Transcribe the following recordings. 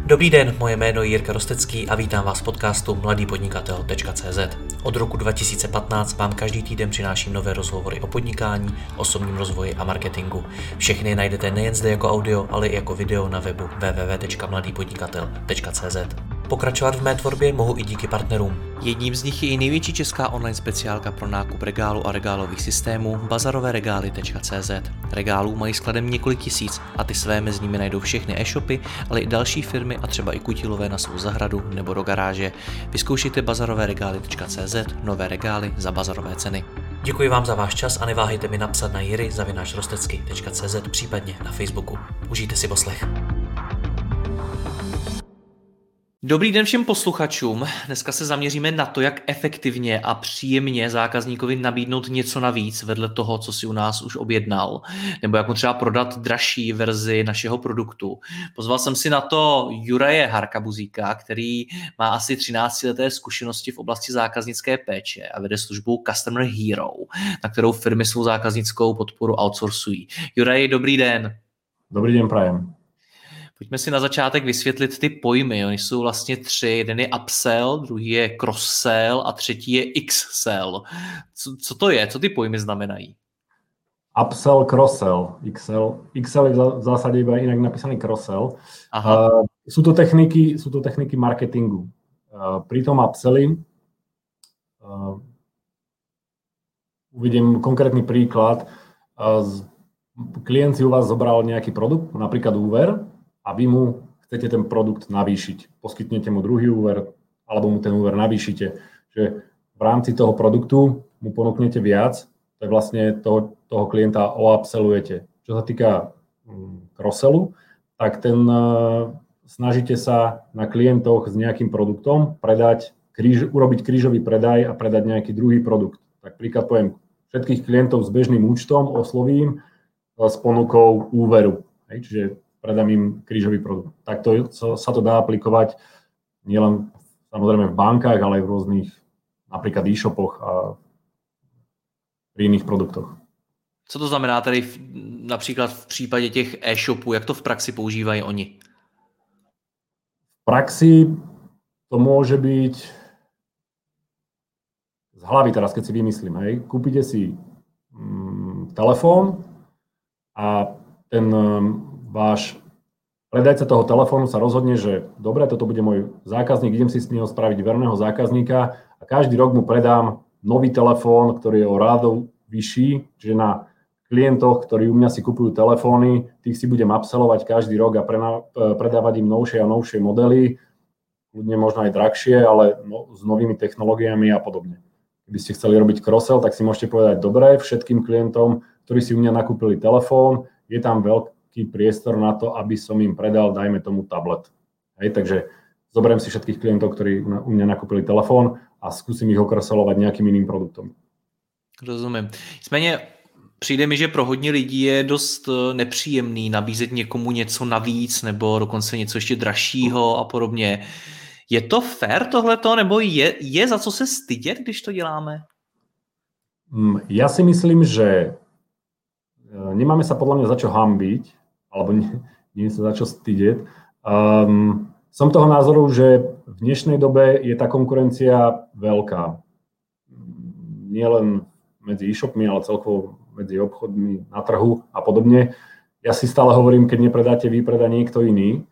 Dobrý den, moje jméno je Jirka Rostecký a vítám vás v podcastu mladýpodnikatel.cz. Od roku 2015 vám každý týden přináším nové rozhovory o podnikání, osobním rozvoji a marketingu. Všechny najdete nejen zde jako audio, ale i jako video na webu www.mladýpodnikatel.cz. Pokračovat v mé tvorbě mohu i díky partnerům. Jedním z nich je i největší česká online speciálka pro nákup regálu a regálových systémů bazaroveregály.cz. Regálů mají skladem několik tisíc a ty své mezi nimi najdou všechny e-shopy, ale i další firmy a třeba i kutilové na svou zahradu nebo do garáže. Vyzkoušejte bazaroveregály.cz, nové regály za bazarové ceny. Děkuji vám za váš čas a neváhejte mi napsat na jiry@rostecky.cz, případně na Facebooku. Užijte si poslech. Dobrý den všem posluchačům. Dneska se zaměříme na to, jak efektivně a příjemně zákazníkovi nabídnout něco navíc vedle toho, co si u nás už objednal, nebo jak mu třeba prodat dražší verzi našeho produktu. Pozval jsem si na to Juraje Harkabuzíka, který má asi 13leté zkušenosti v oblasti zákaznické péče a vede službu Customer Hero, na kterou firmy svou zákaznickou podporu outsourcují. Juraj, dobrý den. Dobrý den, prajem. Pojďme si na začátek vysvětlit ty pojmy. Oni jsou vlastně tři. Jeden je upsell, druhý je cross-sell a třetí je x-sell. Co to je? Co ty pojmy znamenají? Upsell, cross-sell, XL je v zásadě iba inak napísaný cross-sell. Sú to techniky marketingu. Pri tom upselli uvidím konkrétny príklad. Klient si u vás zobral nejaký produkt, napríklad úver, a vy mu chcete ten produkt navýšiť. Poskytnete mu druhý úver, alebo mu ten úver navýšite. Že v rámci toho produktu mu ponúknete viac, to je vlastne toho klienta oupsellujete. Čo sa týka cross-sellu, tak snažíte sa na klientoch s nejakým produktom urobiť krížový predaj a predať nejaký druhý produkt. Tak príklad poviem, všetkých klientov s bežným účtom oslovím s ponukou úveru. Čiže predám im krížový produkt. Takto sa to dá aplikovať nielen samozrejme v bankách, ale aj v rôznych napríklad e-shopoch a pri iných produktoch. Co to znamená tady například v případě těch e-shopů? Jak to v praxi používají oni? V praxi to môže byť z hlavy teraz, keď si vymyslím. Kúpite si telefón a ten váš predajca toho telefónu sa rozhodne, že dobre, toto bude môj zákazník, idem si s neho spraviť verného zákazníka a každý rok mu predám nový telefón, ktorý je o rádo vyšší, čiže na klientoch, ktorí u mňa si kupujú telefóny, tých si budem upsellovať každý rok a predávať im novšie a novšie modely, ľudne možno aj drahšie, ale s novými technológiami a podobne. Keby ste chceli robiť cross-sell, tak si môžete povedať, dobre, všetkým klientom, ktorí si u mňa nakúpili telefón, je tam veľký priestor na to, aby som im predal, dajme tomu, tablet. Takže zoberiem si všetkých klientov, ktorí u mňa nakúpili telefón a skúsim ich okroselovať nejakým iným produktom. Rozumím. Nicméně přijde mi, že pro hodně lidí je dost nepříjemný nabízet někomu něco navíc nebo dokonce něco ještě dražšího a podobně. Je to fair tohleto, nebo je za co se stydět, když to děláme? Ja si myslím, že nemáme sa podľa mňa za čo hanbiť, alebo nie sa za čo stydeť. Som toho názoru, že v dnešnej dobe je tá konkurencia veľká. Nie len medzi e-shopmi, ale celkovo medzi obchodmi na trhu a podobne. Ja si stále hovorím, keď nepredáte vy, predá niekto iný.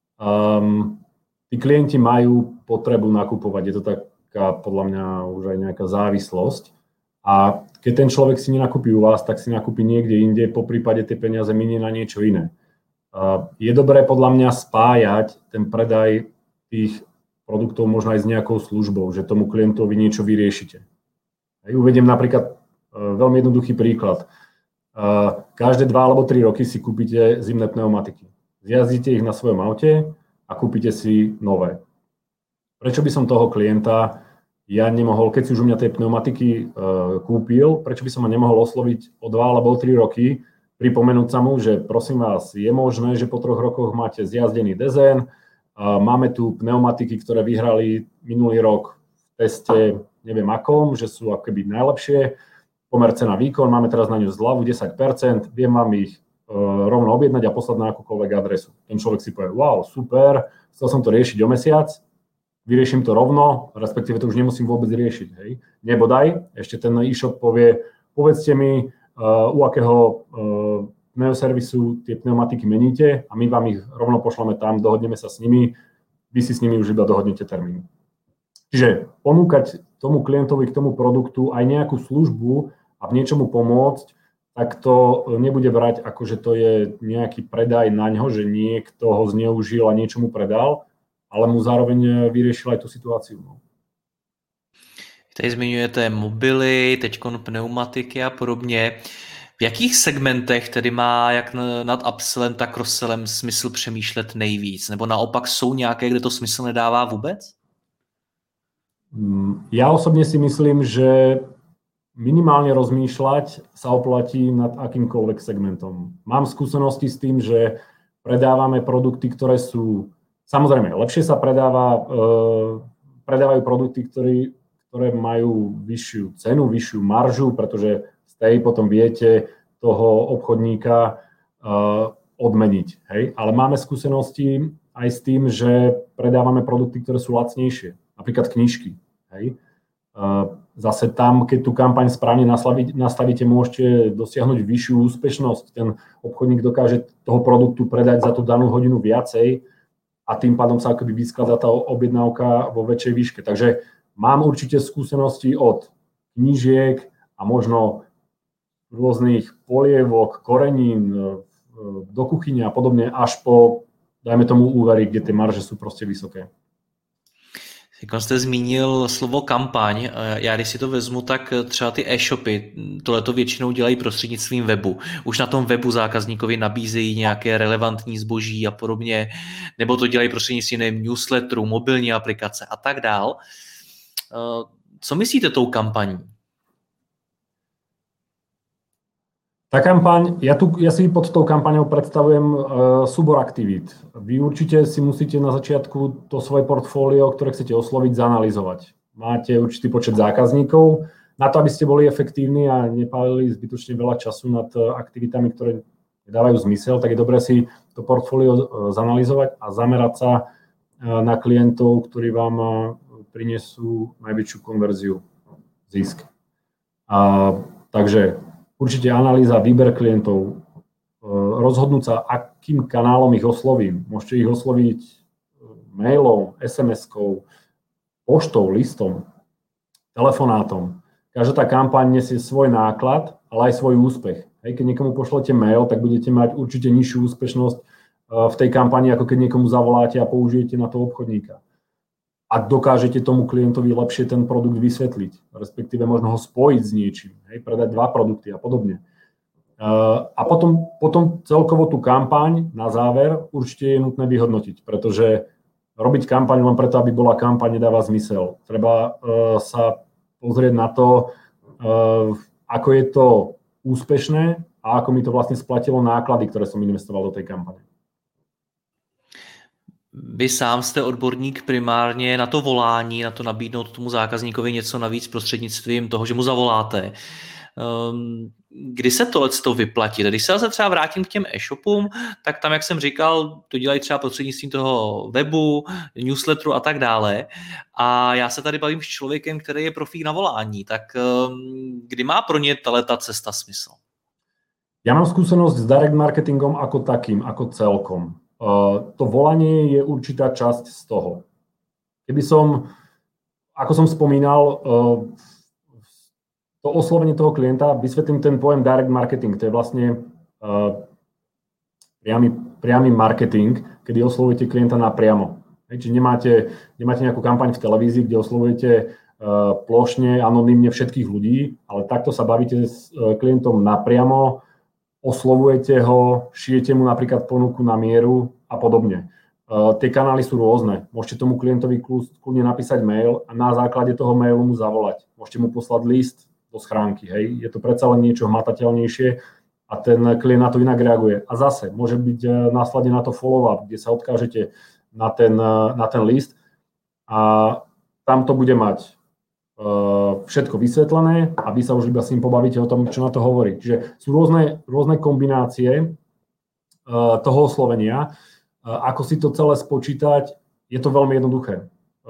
Tí klienti majú potrebu nakupovať. Je to taká podľa mňa už aj nejaká závislosť. A keď ten človek si nenakúpi u vás, tak si nakúpi niekde inde, poprípade tie peniaze minie na niečo iné. Je dobré podľa mňa spájať ten predaj tých produktov možno aj s nejakou službou, že tomu klientovi niečo vyriešite. Uvediem napríklad veľmi jednoduchý príklad. Každé 2 alebo 3 roky si kúpite zimné pneumatiky. Zjazdíte ich na svojom aute a kúpite si nové. Prečo by som toho klienta ja nemohol, keď si už u mňa tie pneumatiky kúpil, prečo by som ma nemohol osloviť o 2 alebo 3 roky, pripomenúť sa mu, že prosím vás, je možné, že po 3 rokoch máte zjazdený dezén, máme tu pneumatiky, ktoré vyhrali minulý rok v teste neviem akom, že sú akoby najlepšie, pomer cena výkon, máme teraz na ňu zľavu 10%, viem vám ich rovno objednať a poslať na akúkoľvek adresu. Ten človek si povie, wow, super, chcel som to riešiť o mesiac, vyrieším to rovno, respektíve to už nemusím vôbec riešiť. Hej. Nebodaj, ešte ten e-shop povie, povedzte mi, u akého pneuservisu tie pneumatiky meníte a my vám ich rovno pošleme tam, dohodneme sa s nimi, vy si s nimi už iba dohodnete termín. Čiže ponúkať tomu klientovi k tomu produktu aj nejakú službu a v niečomu pomôcť, tak to nebude brať ako, že to je nejaký predaj na ňo, že niekto ho zneužil a niečomu predal, ale mu zároveň vyriešil aj tú situáciu. Tady zmiňujete mobily, teďkon pneumatiky a podobně. V jakých segmentech tedy má jak nad upsellem, tak cross-sellem smysl přemýšlet nejvíc? Nebo naopak jsou nějaké, kde to smysl nedává vůbec? Ja osobne si myslím, že minimálne rozmýšľať sa oplatí nad akýmkoľvek segmentom. Mám skúsenosti s tým, že predávame produkty, ktoré sú... Samozrejme, lepšie sa predávajú produkty, ktoré majú vyššiu cenu, vyššiu maržu, pretože z tej potom viete toho obchodníka odmeniť. Hej? Ale máme skúsenosti aj s tým, že predávame produkty, ktoré sú lacnejšie. Napríklad knižky. Hej? Zase tam, keď tú kampaň správne nastavíte, môžete dosiahnuť vyššiu úspešnosť. Ten obchodník dokáže toho produktu predať za tú danú hodinu viacej a tým pádom sa akoby vyskladá tá objednávka vo väčšej výške. Takže mám určite skúsenosti od knížiek a možno rôznych polievok, korenín do kuchyne a podobne, až po, dajme tomu, úvery, kde tie marže sú proste vysoké. Jak jste zmínil slovo kampaň, já když si to vezmu, tak třeba ty e-shopy tohleto většinou dělají prostřednictvím webu. Už na tom webu zákazníkovi nabízejí nějaké relevantní zboží a podobně, nebo to dělají prostřednictvím newsletterů, mobilní aplikace a tak dál. Co myslíte tou kampaní? Tá kampaň, ja si pod tou kampaňou predstavujem súbor aktivít. Vy určite si musíte na začiatku to svoje portfólio, ktoré chcete osloviť, zanalyzovať. Máte určitý počet zákazníkov. Na to, aby ste boli efektívni a nepálili zbytočne veľa času nad aktivitami, ktoré dávajú zmysel, tak je dobré si to portfólio zanalyzovať a zamerať sa na klientov, ktorí vám prinesú najväčšiu konverziu, zisk. Takže určite analýza, výber klientov, rozhodnúť sa, akým kanálom ich oslovím. Môžete ich osloviť mailom, SMS-kou, poštou, listom, telefonátom. Každá tá kampaň nesie svoj náklad, ale aj svoj úspech. Hej, keď niekomu pošlete mail, tak budete mať určite nižšiu úspešnosť v tej kampani, ako keď niekomu zavoláte a použijete na to obchodníka. Ak dokážete tomu klientovi lepšie ten produkt vysvetliť, respektíve možno ho spojiť s niečím, hej, predať 2 produkty a podobne. A potom celkovo tú kampaň na záver určite je nutné vyhodnotiť, pretože robiť kampaň len preto, aby bola kampaň, nedáva zmysel. Treba sa pozrieť na to, ako je to úspešné a ako mi to vlastne splatilo náklady, ktoré som investoval do tej kampane. Vy sám jste odborník primárně na to volání, na to nabídnout tomu zákazníkovi něco navíc prostřednictvím toho, že mu zavoláte. Kdy se tohleto vyplatí? Když se třeba vrátím k těm e-shopům, tak tam, jak jsem říkal, to dělají třeba prostřednictvím toho webu, newsletteru a tak dále. A já se tady bavím s člověkem, který je profík na volání. Tak kdy má pro ně ta cesta smysl? Ja mám skúsenosť s direct marketingom ako takým, ako celkom. To volanie je určitá časť z toho. Keby som, ako som spomínal, to oslovenie toho klienta, vysvetlím ten pojem direct marketing, to je vlastne priamy marketing, kedy oslovujete klienta napriamo. Čiže nemáte nejakú kampaň v televízii, kde oslovujete plošne, anonymne všetkých ľudí, ale takto sa bavíte s klientom napriamo, oslovujete ho, šijete mu napríklad ponuku na mieru a podobne. Tie kanály sú rôzne. Môžete tomu klientovi kľudne napísať mail a na základe toho mailu mu zavolať. Môžete mu poslať list do schránky. Hej. Je to predsa len niečo hmatateľnejšie a ten klient na to inak reaguje. A zase môže byť následne na to follow-up, kde sa odkážete na ten list a tam to bude mať všetko vysvetlené a vy sa už iba s ním pobavíte o tom, čo na to hovorí. Čiže sú rôzne kombinácie toho oslovenia. Ako si to celé spočítať, je to veľmi jednoduché.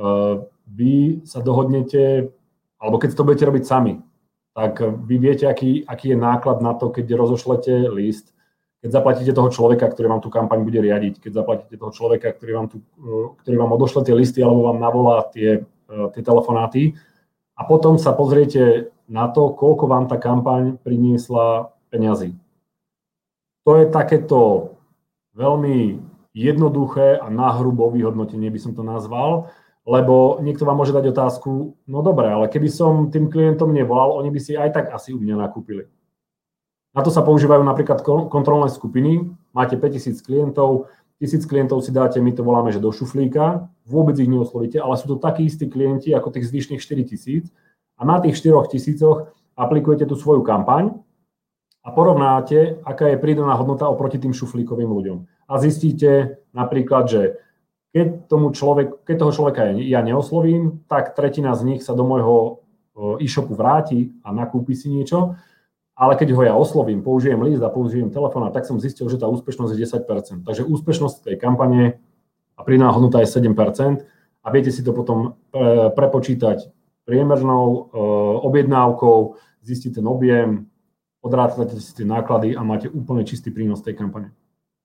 Vy sa dohodnete, alebo keď to budete robiť sami, tak vy viete, aký je náklad na to, keď rozošlete list, keď zaplatíte toho človeka, ktorý vám tú kampaň bude riadiť, keď zaplatíte toho človeka, ktorý vám odošle tie listy alebo vám navolá tie telefonáty a potom sa pozriete na to, koľko vám tá kampaň priniesla peňazí. To je takéto veľmi jednoduché a nahrubo vyhodnotenie, by som to nazval, lebo niekto vám môže dať otázku, no dobre, ale keby som tým klientom nevolal, oni by si aj tak asi u mňa nakúpili. Na to sa používajú napríklad kontrolné skupiny. Máte 5000 klientov, 1000 klientov si dáte, my to voláme, že do šuflíka, vôbec ich neoslovíte, ale sú to takí istí klienti ako tých zvyšných 4000 a na tých 4000 aplikujete tú svoju kampaň a porovnáte, aká je pridaná hodnota oproti tým šuflíkovým ľuďom. A zistíte napríklad, že keď toho človeka ja neoslovím, tak tretina z nich sa do môjho e-shopu vráti a nakúpi si niečo. Ale keď ho ja oslovím, použijem list a použijem telefón, tak som zistil, že tá úspešnosť je 10%. Takže úspešnosť tej kampane a pridaná hodnota je 7% a viete si to potom prepočítať priemernou objednávkou, zistiť ten objem, odrátate si tie náklady a máte úplne čistý prínos tej kampane.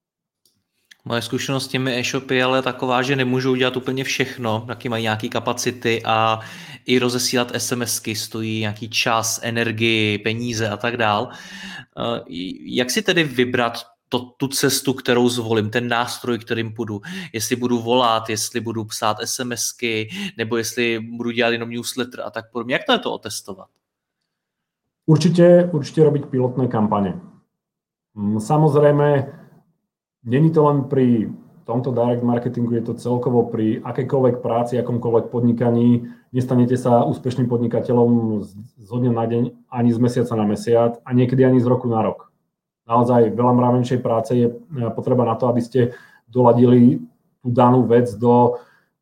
Moje zkušenost s těmi e-shopy je ale taková, že nemůžou dělat úplně všechno, taky mají nějaké kapacity a i rozesílat SMSky stojí nějaký čas, energii, peníze a tak dál. Jak si tedy vybrat tu cestu, kterou zvolím, ten nástroj, kterým půjdu? Jestli budu volat, jestli budu psát SMSky, nebo jestli budu dělat jenom newsletter a tak podobně. Jak to je to otestovat? Určite robiť pilotné kampane. Samozrejme, není to len pri tomto direct marketingu, je to celkovo pri akejkoľvek práci, akomkoľvek podnikaní. Nestanete sa úspešným podnikateľom zo dňa na deň, ani z mesiaca na mesiac a niekedy ani z roku na rok. Naozaj veľa mravenčej práce je potreba na to, aby ste doladili tú danú vec do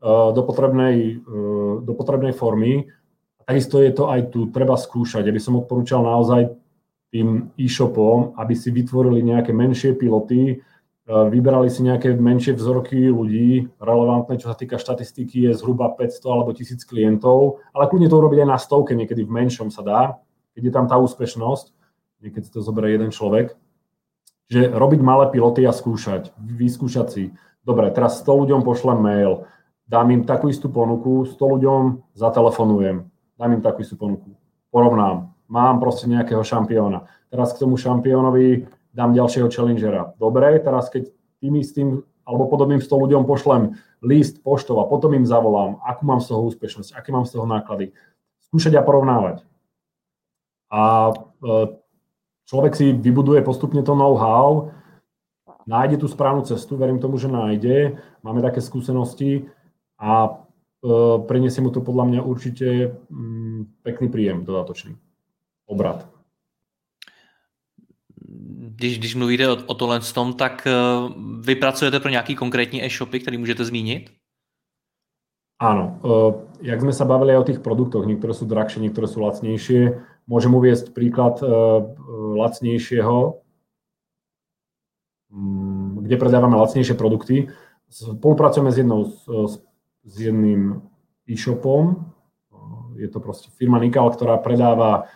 potrebnej formy. Takisto je to aj tu, treba skúšať. Ja by som odporúčal naozaj tým e-shopom, aby si vytvorili nejaké menšie piloty, vyberali si nejaké menšie vzorky ľudí, relevantné, čo sa týka štatistiky, je zhruba 500 alebo 1000 klientov, ale kľudne to urobiť aj na stovke, niekedy v menšom sa dá, keď je tam tá úspešnosť, niekedy to zoberie jeden človek. Že robiť malé piloty a skúšať, vyskúšať si. Dobre, teraz 100 ľuďom pošlem mail, dám im takú istú ponuku, 100 ľuďom zatelefonujem, dám im takú istú ponuku, porovnám, mám proste nejakého šampióna. Teraz k tomu šampiónovi dám ďalšieho challengera. Dobre, teraz keď tým istým alebo podobným 100 ľuďom pošlem list poštou a potom im zavolám, akú mám z toho úspešnosť, aké mám z toho náklady. Skúšať a porovnávať. A človek si vybuduje postupne to know-how, nájde tú správnu cestu, verím tomu, že nájde, máme také skúsenosti a prinesie mu to podľa mňa určite pekný príjem dodatočný. Obrat. Když mluvíte o tohle tom, tak vy pracujete pro nějaký konkrétní e-shopy, který můžete zmínit? Áno. Jak sme sa bavili aj o tých produktoch, niektoré sú drahšie, niektoré sú lacnejšie. Môžem uviesť príklad lacnejšieho, kde predávame lacnejšie produkty. Spolupracujeme s jedným e-shopom. Je to proste firma Nikal, ktorá predáva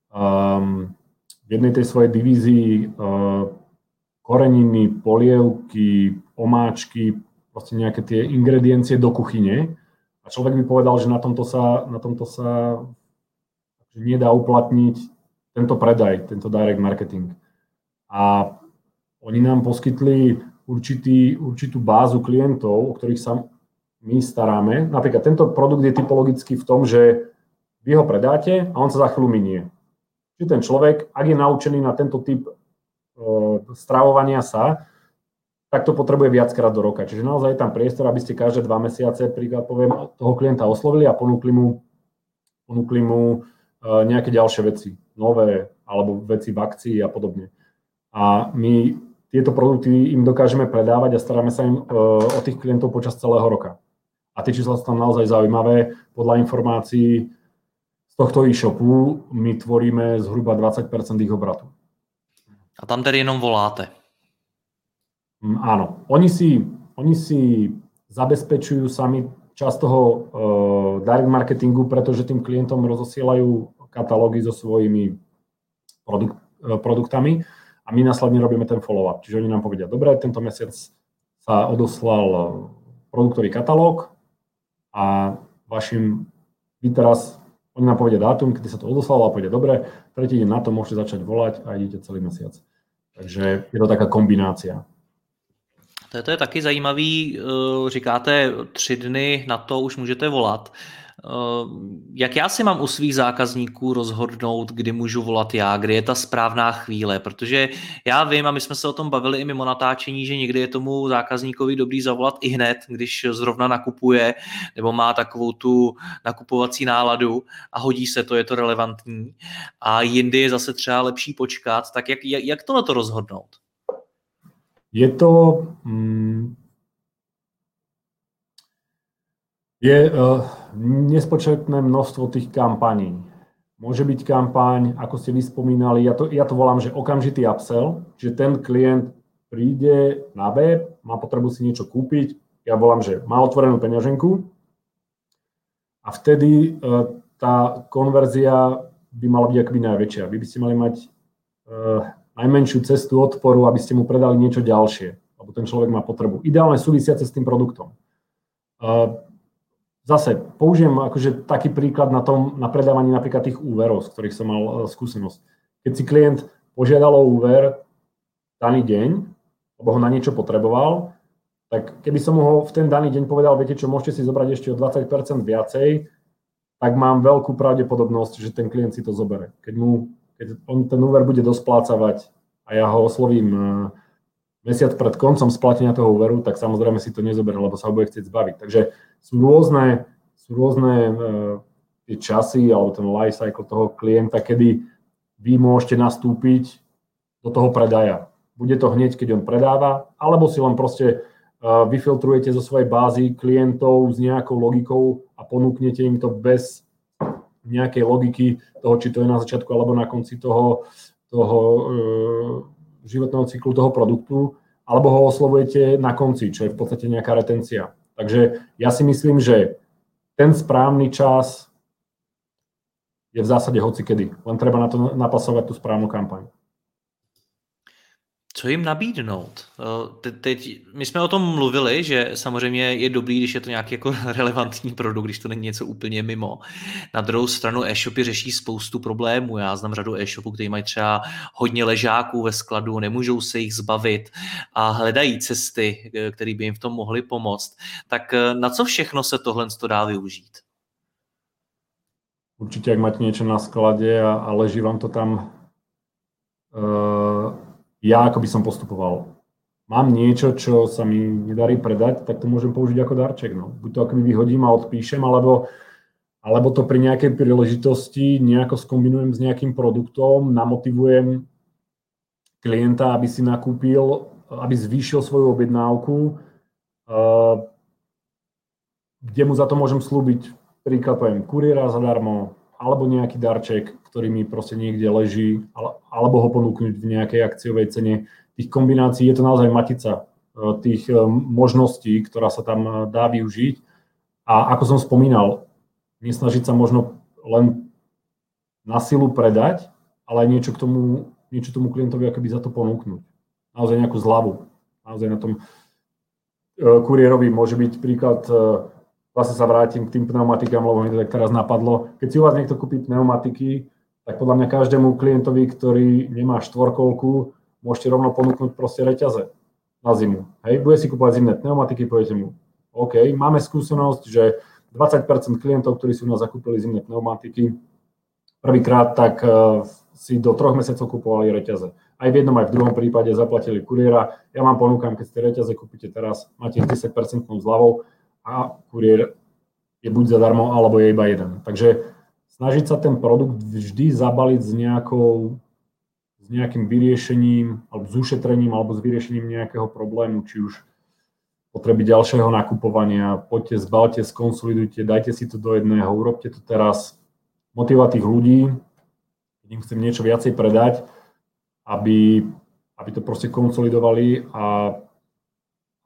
v jednej tej svojej divízii koreniny, polievky, omáčky, proste nejaké tie ingrediencie do kuchyne. A človek by povedal, že na tomto sa nedá uplatniť tento predaj, tento direct marketing. A oni nám poskytli určitú bázu klientov, o ktorých sa my staráme. Napríklad tento produkt je typologický v tom, že vy ho predáte a on sa za chvíľu minie. Čiže ten človek, ak je naučený na tento typ stravovania sa, tak to potrebuje viackrát do roka. Čiže naozaj je tam priestor, aby ste každé 2 mesiace, príklad poviem, toho klienta oslovili a ponúkli mu nejaké ďalšie veci, nové, alebo veci v akcii a podobne. A my tieto produkty im dokážeme predávať a staráme sa im o tých klientov počas celého roka. A tie čísla sú tam naozaj zaujímavé. Podľa informácií z tohto e-shopu my tvoríme zhruba 20% ich obratu. A tam tedy jenom voláte? Áno, oni si zabezpečujú sami časť toho direct marketingu, pretože tým klientom rozosielajú katalógy so svojimi produktami a my následne robíme ten follow-up. Čiže oni nám povedia, dobre, tento mesiac sa odoslal produktový katalóg a vy teraz, oni nám povedia dátum, kedy sa to odoslalo a povedia, dobre, tretí deň na to môžete začať volať a idete celý mesiac. Takže je to taká kombinácia. To je taky zajímavý, říkáte 3 dny na to už můžete volat. Jak já si mám u svých zákazníků rozhodnout, kdy můžu volat já, kdy je ta správná chvíle, protože já vím, a my jsme se o tom bavili i mimo natáčení, že někdy je tomu zákazníkovi dobrý zavolat i hned, když zrovna nakupuje nebo má takovou tu nakupovací náladu a hodí se to, je to relevantní, a jindy je zase třeba lepší počkat, tak jak tohleto rozhodnout? Je to nespočetné množstvo tých kampaní. Môže byť kampaň, ako ste vyspomínali, ja to volám, že okamžitý upsell, že ten klient príde na web, má potrebu si niečo kúpiť, ja volám, že má otvorenú peňaženku a vtedy tá konverzia by mala byť akoby najväčšia. Vy by ste mali mať najmenšiu cestu odporu, aby ste mu predali niečo ďalšie, lebo ten človek má potrebu. Ideálne súvisiace s tým produktom. Zase použijem akože taký príklad na predávaní napríklad tých úverov, z ktorých som mal skúsenosť. Keď si klient požiadal o úver daný deň, lebo ho na niečo potreboval, tak keby som mu ho v ten daný deň povedal, viete čo, môžete si zobrať ešte o 20% viacej, tak mám veľkú pravdepodobnosť, že ten klient si to zobere. Keď on ten úver bude dosplácavať a ja ho oslovím mesiac pred koncom splatenia toho úveru, tak samozrejme si to nezoberie, lebo sa ho bude chcieť zbaviť. Takže sú rôzne tie časy alebo ten life cycle toho klienta, kedy vy môžete nastúpiť do toho predaja. Bude to hneď, keď on predáva, alebo si len proste vyfiltrujete zo svojej bázy klientov s nejakou logikou a ponúknete im to bez nejakej logiky toho, či to je na začiatku alebo na konci toho životného cyklu toho produktu, alebo ho oslovujete na konci, čo je v podstate nejaká retencia. Takže ja si myslím, že ten správny čas je v zásade hocikedy. Len treba na to napasovať tú správnu kampaň. Co jim nabídnout? Teď my jsme o tom mluvili, že samozřejmě je dobrý, když je to nějaký jako relevantní produkt, když to není něco úplně mimo. Na druhou stranu e-shopy řeší spoustu problémů. Já znám řadu e-shopů, kteří mají třeba hodně ležáků ve skladu, nemůžou se jich zbavit a hledají cesty, které by jim v tom mohly pomoct. Tak na co všechno se tohle dá využít? Určite, ak máte niečo na sklade a leží vám to tam, ja ako by som postupoval. Mám niečo, čo sa mi nedarí predať, tak to môžem použiť ako darček. No. Buď to akoby vyhodím a odpíšem, alebo to pri nejakej príležitosti nejako skombinujem s nejakým produktom, namotivujem klienta, aby si nakúpil, aby zvýšil svoju objednávku, kde mu za to môžem slúbiť, príklad poviem, kuriéra zadarmo, alebo nejaký darček, ktorý mi proste niekde leží, alebo ho ponúknuť v nejakej akciovej cene. Tých kombinácií je to naozaj matica tých možností, ktorá sa tam dá využiť. A ako som spomínal, nesnažiť sa možno len na silu predať, ale niečo tomu klientovi akoby za to ponúknuť. Naozaj nejakú zľavu. Naozaj na tom kuriérovi môže byť príklad. Zase sa vrátim k tým pneumatikám, lebo mi to tak teraz napadlo. Keď si u vás niekto kúpi pneumatiky, tak podľa mňa každému klientovi, ktorý nemá štvorkolku, môžete rovno ponúknuť proste reťaze na zimu. Hej, bude si kúpovať zimné pneumatiky, poviete mu, OK, máme skúsenosť, že 20% klientov, ktorí si u nás zakúpili zimné pneumatiky, prvýkrát tak si do 3 mesiacov kupovali reťaze. Aj v jednom, aj v druhom prípade zaplatili kuriéra. Ja vám ponúkam, keď ste reťaze kúpite teraz, máte 10% zľavou, a kuriér je buď zadarmo, alebo je iba jeden. Takže snažiť sa ten produkt vždy zabaliť s nejakým vyriešením, alebo s ušetrením, alebo s vyriešením nejakého problému, či už potreby ďalšieho nakupovania. Poďte, zbalte, skonsolidujte, dajte si to do jedného, urobte to teraz. Motivovať tých ľudí, keď im chcem niečo viacej predať, aby to proste konsolidovali a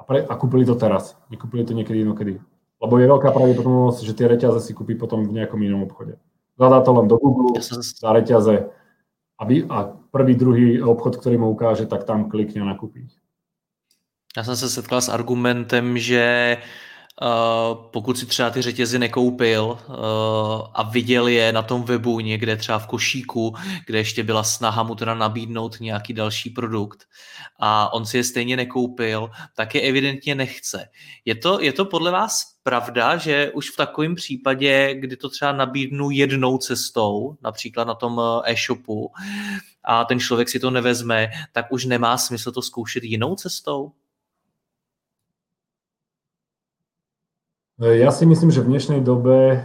a kúpili to teraz. Nekúpili to niekedy inokedy. Lebo je veľká pravdepodobnosť, že tie reťaze si kúpi potom v nejakom inom obchode. Zadá to len do Google, dá reťaze a prvý, druhý obchod, ktorý mu ukáže, tak tam klikne a nakúpi. Já jsem se setkal s argumentem, že pokud si třeba ty řetězy nekoupil a viděl je na tom webu někde třeba v košíku, kde ještě byla snaha mu teda nabídnout nějaký další produkt a on si je stejně nekoupil, tak je evidentně nechce. Je to podle vás pravda, že už v takovém případě, kdy to třeba nabídnu jednou cestou, například na tom e-shopu, a ten člověk si to nevezme, tak už nemá smysl to zkoušet jinou cestou? Ja si myslím, že v dnešnej dobe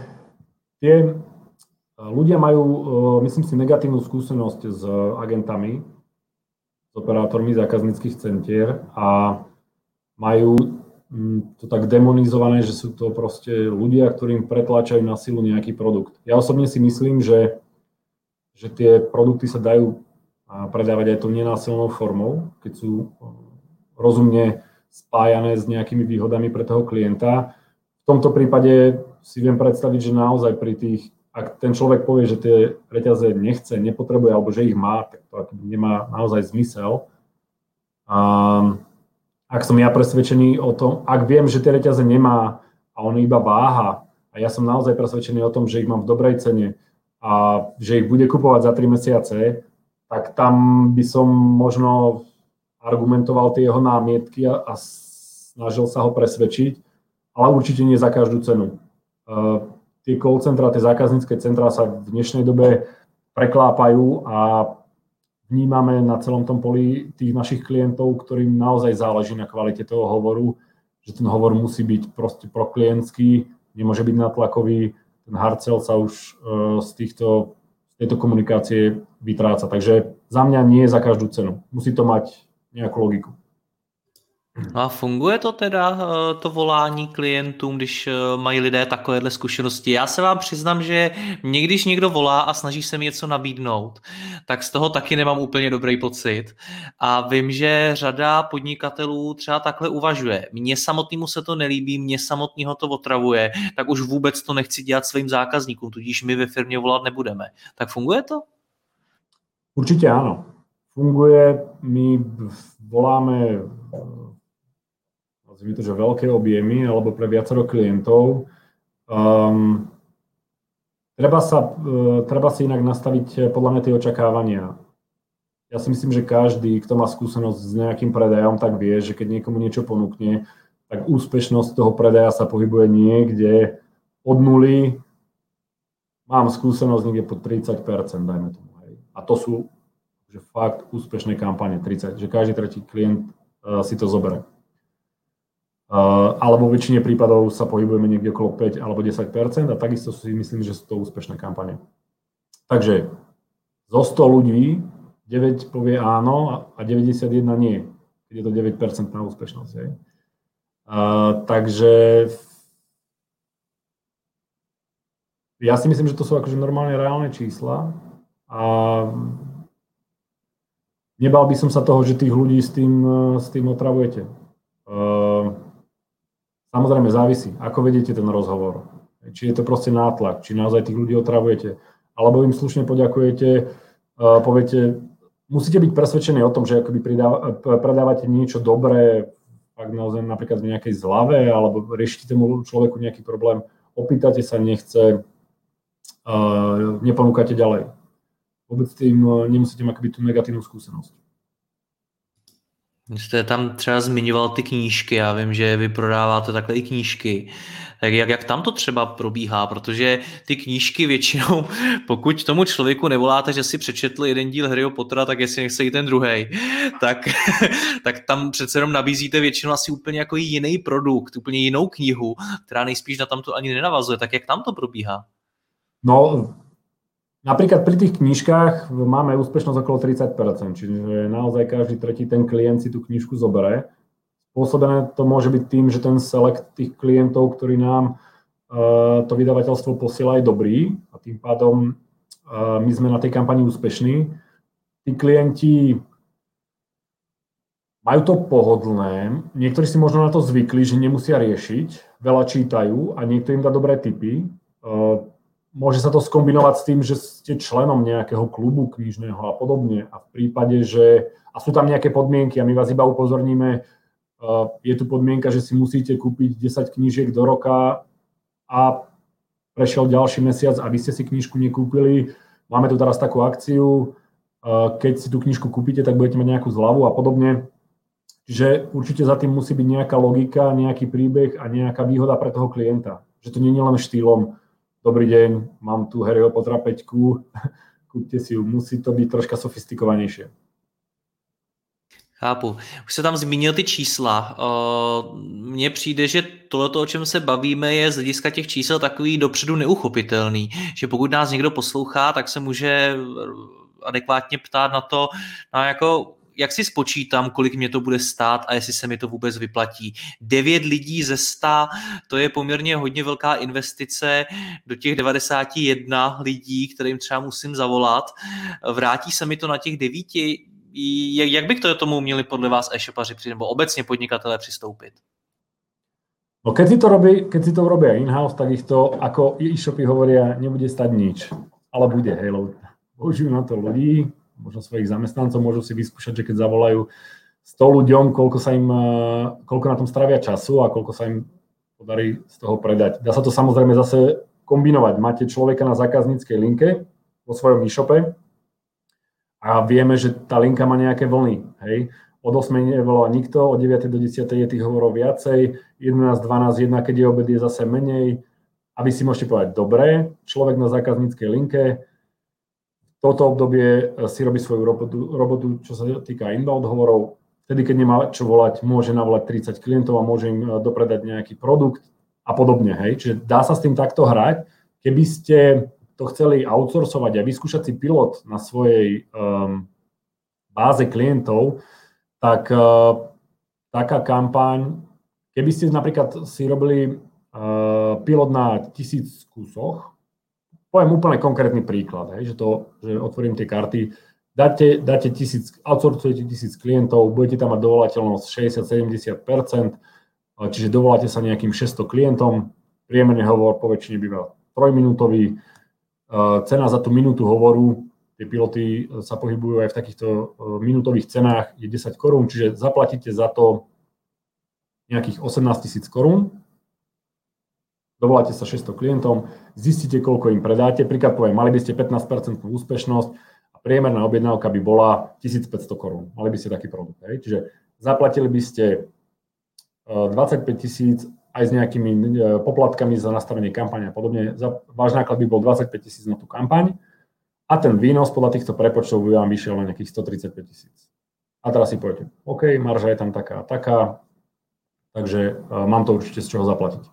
ľudia majú, myslím si, negatívnu skúsenosť s agentami, s operátormi zákazníckych centier a majú to tak demonizované, že sú to proste ľudia, ktorým pretláčajú na silu nejaký produkt. Ja osobne si myslím, že tie produkty sa dajú predávať aj tou nenásilnou formou, keď sú rozumne spájané s nejakými výhodami pre toho klienta. V tomto prípade si viem predstaviť, že naozaj ak ten človek povie, že tie reťaze nechce, nepotrebuje, alebo že ich má, tak to nemá naozaj zmysel. Ak som ja presvedčený o tom, ak viem, že tie reťaze nemá a on iba váha a ja som naozaj presvedčený o tom, že ich mám v dobrej cene a že ich bude kupovať za 3 mesiace, tak tam by som možno argumentoval tie jeho námietky a snažil sa ho presvedčiť, ale určite nie za každú cenu. Tie call centra, tie zákaznícke centrá sa v dnešnej dobe preklápajú a vnímame na celom tom poli tých našich klientov, ktorým naozaj záleží na kvalite toho hovoru, že ten hovor musí byť proste proklientský, nemôže byť natlakový, ten hard sell sa už z tejto komunikácie vytráca. Takže za mňa nie za každú cenu. Musí to mať nejakú logiku. No a funguje to teda, to volání klientům, když mají lidé takovéhle zkušenosti? Já se vám přiznám, že mě, když někdo volá a snaží se mi něco nabídnout, tak z toho taky nemám úplně dobrý pocit. A vím, že řada podnikatelů třeba takhle uvažuje. Mně samotnému se to nelíbí, mně samotného to otravuje, tak už vůbec to nechci dělat svým zákazníkům, tudíž my ve firmě volat nebudeme. Tak funguje to? Určite áno. Funguje, my voláme nazvime to, že veľké objemy alebo pre viacero klientov. Treba si inak nastaviť podľa mňa tie očakávania. Ja si myslím, že každý, kto má skúsenosť s nejakým predajom, tak vie, že keď niekomu niečo ponúkne, tak úspešnosť toho predaja sa pohybuje niekde od nuly. Mám skúsenosť niekde pod 30%, dajme tomu. Hej. A to sú že fakt úspešné kampane, 30%, že každý tretí klient si to zoberie. Ale vo väčšine prípadov sa pohybujeme niekde okolo 5 alebo 10% a takisto si myslím, že sú to úspešné kampane. Takže zo 100 ľudí 9 povie áno a 91 nie, keď je to 9% na úspešnosť. Takže ja si myslím, že to sú akože normálne reálne čísla a nebal by som sa toho, že tých ľudí s tým otravujete. Samozrejme závisí, ako vedete ten rozhovor. Či je to proste nátlak, či naozaj tých ľudí otravujete. Alebo im slušne poďakujete, poviete, musíte byť presvedčení o tom, že akoby predávate niečo dobré, ak naozaj napríklad v nejakej zlave, alebo riešite tomu človeku nejaký problém, opýtate sa, nechce, neponúkate ďalej. Vôbec tým nemusíte mať akoby tú negatívnu skúsenosť. Jste tam třeba zmiňoval ty knížky, já vím, že vy prodáváte takhle i knížky. Tak jak tam to třeba probíhá? Protože ty knížky většinou, pokud tomu člověku nevoláte, že si přečetl jeden díl Harryho Pottera, tak jestli nechce i ten druhej, tak tam přece jenom nabízíte většinou asi úplně jako jiný produkt, úplně jinou knihu, která nejspíš na tamto ani nenavazuje. Tak jak tam to probíhá? No, napríklad pri tých knižkách máme úspešnosť okolo 30%, čiže naozaj každý tretí ten klient si tú knižku zoberie. Spôsobené to môže byť tým, že ten select tých klientov, ktorí nám to vydavateľstvo posiela, je dobrý a tým pádom my sme na tej kampani úspešní. Tí klienti majú to pohodlné, niektorí si možno na to zvykli, že nemusia riešiť, veľa čítajú a niekto im dá dobré tipy. Môže sa to skombinovať s tým, že ste členom nejakého klubu knižného a podobne a v prípade, že a sú tam nejaké podmienky a my vás iba upozorníme, je tu podmienka, že si musíte kúpiť 10 knížiek do roka a prešiel ďalší mesiac a vy ste si knižku nekúpili. Máme tu teraz takú akciu, keď si tú knižku kúpite, tak budete mať nejakú zľavu a podobne. Čiže určite za tým musí byť nejaká logika, nejaký príbeh a nejaká výhoda pre toho klienta. Že to nie je len štýlom, dobrý deň, mám tu Harryho Pottera 5, kúpte si ju, musí to byť troška sofistikovanejšie. Chápu. Už se tam zmínil ty čísla. Mně přijde, že tohleto, o čem se bavíme, je z hlediska těch čísel takový dopředu neuchopitelný. Že pokud nás někdo poslouchá, tak se může adekvátně ptát na to, jak si spočítám, kolik mě to bude stát a jestli se mi to vůbec vyplatí. 9 lidí ze 100, to je poměrně hodně velká investice do těch 91 lidí, kterým třeba musím zavolat. Vrátí se mi to na těch 9? Jak by k tomu měli podle vás e-shopaři nebo obecně podnikatelé přistoupit? No keď si to robia in-house, tak ich to, ako e-shopy hovoria, nebude stať nič. Ale bude, hej, lebo použijú na to ľudí, možno svojich zamestnancov, môžu si vyskúšať, že keď zavolajú 100 ľuďom, koľko na tom stravia času a koľko sa im podarí z toho predať. Dá sa to samozrejme zase kombinovať. Máte človeka na zákazníckej linke vo svojom e-shope a vieme, že tá linka má nejaké vlny. Hej. Od 8 nevolá nikto, od 9 do 10 je tých hovorov viacej, 11, 12, 1, keď je obed, je zase menej. A vy si môžete povedať, dobre, človek na zákazníckej linke, toto obdobie si robí svoju robotu, čo sa týka inbound hovorov. Vtedy, keď nemá čo volať, môže navolať 30 klientov a môže im dopredať nejaký produkt a podobne. Hej. Čiže dá sa s tým takto hrať. Keby ste to chceli outsourcovať a vyskúšať si pilot na svojej báze klientov, tak taká kampaň, keby ste napríklad si robili pilot na 1000 kusoch, poviem úplne konkrétny príklad, hej, že otvorím tie karty, dáte 1000, outsourcujete 1000 klientov, budete tam mať dovolateľnosť 60-70%, čiže dovoláte sa nejakým 600 klientom, priemerne hovor po väčšine býva 3-minútový, cena za tú minútu hovoru, tie piloty sa pohybujú aj v takýchto minútových cenách, je 10 korún, čiže zaplatíte za to nejakých 18 000 korún, dovoláte sa 600 klientom, zistíte, koľko im predáte, príklad poviem, mali by ste 15% úspešnosť a priemerná objednávka by bola 1500 korún, mali by ste taký produkt. Hej? Čiže zaplatili by ste 25 000 aj s nejakými poplatkami za nastavenie kampane a podobne, váš náklad by bol 25 000 na tú kampaň, a ten výnos podľa týchto prepočtov by vám vyšiel na nejakých 135 000. A teraz si poviete, OK, marža je tam taká a taká, takže mám to určite z čoho zaplatiť.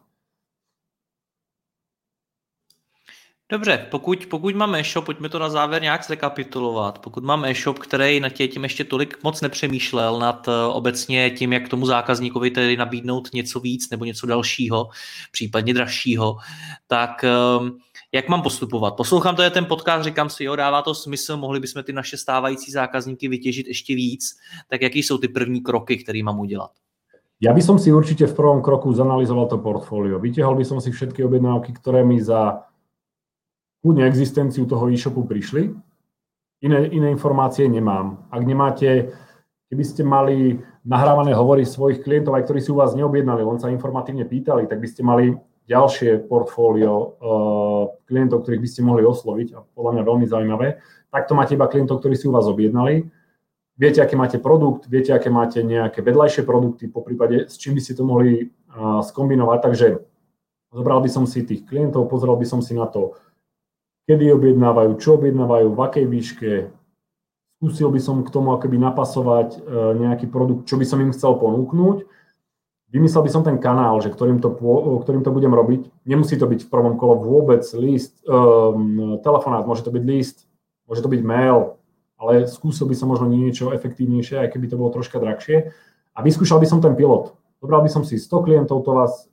Dobře, pokud mám e-shop, pojďme to na závěr nějak zrekapitulovat. Pokud mám e-shop, který nad tím ještě tolik moc nepřemýšlel nad obecně tím, jak tomu zákazníkovi tedy nabídnout něco víc nebo něco dalšího, případně dražšího, tak jak mám postupovat? Poslouchám to je ten podcast, říkám si, jo, dává to smysl, mohli bychom ty naše stávající zákazníky vytěžit ještě víc, tak jaký jsou ty první kroky, které mám udělat? Ja by som si určite v prvom kroku zanalizoval to portfólio. Vytiahol by som si všetky objednávky, ktoré mi za kľudne existenciu toho e-shopu prišli. Iné informácie nemám. Ak nemáte, keby ste mali nahrávané hovory svojich klientov, aj ktorí si u vás neobjednali, len sa informatívne pýtali, tak by ste mali ďalšie portfólio klientov, ktorých by ste mohli osloviť a podľa mňa veľmi zaujímavé. Takto máte iba klientov, ktorí si u vás objednali. Viete, aké máte produkt, viete, aké máte nejaké vedľajšie produkty, poprípade s čím by ste to mohli skombinovať. Takže zobral by som si tých klientov, pozrel by som si na to, kedy objednávajú, čo objednávajú, v akej výške. Skúsil by som k tomu akoby napasovať nejaký produkt, čo by som im chcel ponúknuť. Vymyslel by som ten kanál, že ktorým to budem robiť. Nemusí to byť v prvom kole vôbec list, telefonát, môže to byť list, môže to byť mail, ale skúsil by som možno niečo efektívnejšie, aj keby to bolo troška drahšie. A vyskúšal by som ten pilot. Zobral by som si 100 klientov, to vás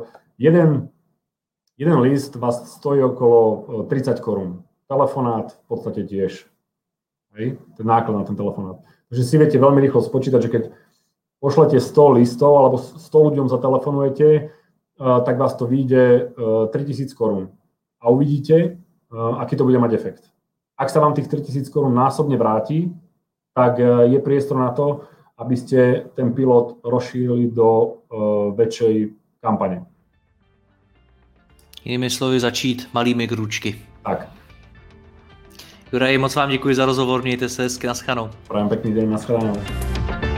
jeden list vás stojí okolo 30 korún. Telefonát v podstate tiež. Hej? Ten náklad na ten telefonát. Takže si viete veľmi rýchlo spočítať, že keď pošlete 100 listov alebo 100 ľuďom zatelefonujete, tak vás to vyjde 3000 korún. A uvidíte, aký to bude mať efekt. Ak sa vám tých 3000 korún násobne vráti, tak je priestor na to, aby ste ten pilot rozšírili do väčšej kampane. Jinými slovy začít malými krůčky. Tak. Juraj, moc vám děkuji za rozhovor, mějte se hezky, naschledanou. Prajem pekný deň, naschledanou.